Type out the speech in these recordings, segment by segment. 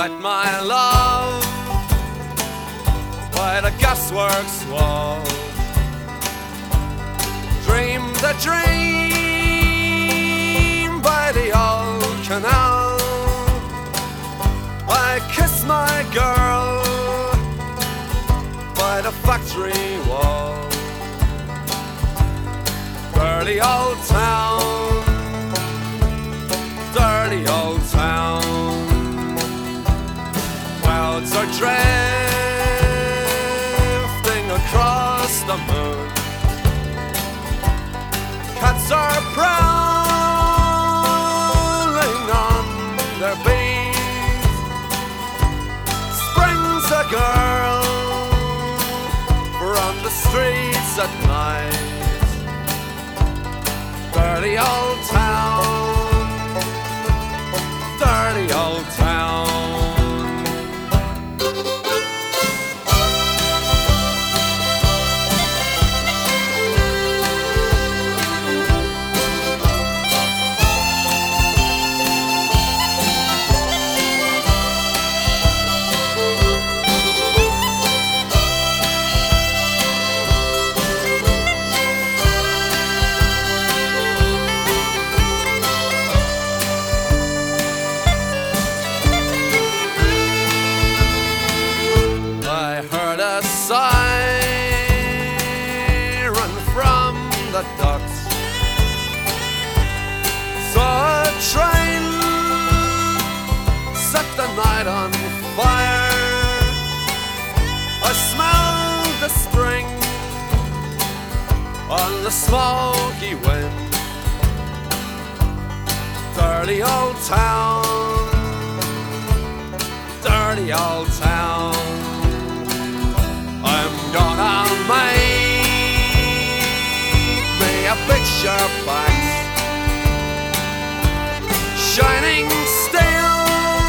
met my love by the gasworks wall. Dreamed a dream by the old canal. I kissed my girl by the factory wall. Dirty old town, dirty old town. Clouds are drifting across the moon. Cats are prowling on their beat. Springs a girl from the streets at night. Dirty old town, dirty old town. Siren from the docks. Saw a train set the night on fire. I smelled the spring on the smoky wind. Dirty old town, dirty old town. I'm gonna make me a picture box, shining steel,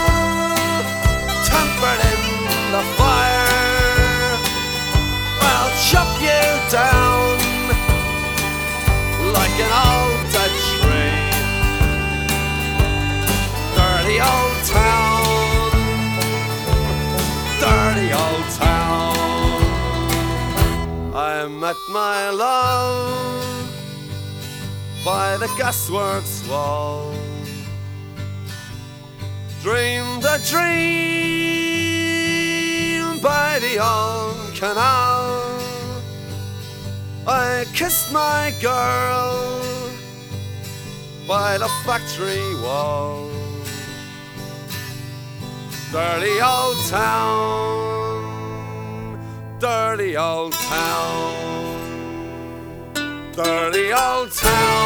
tempered in the fire. I'll chop you down like an old dead tree. Dirty old town, dirty old town. I met my love by the gasworks wall. Dreamed a dream by the old canal. I kissed my girl by the factory wall. Dirty old town, dirty old town, dirty old town.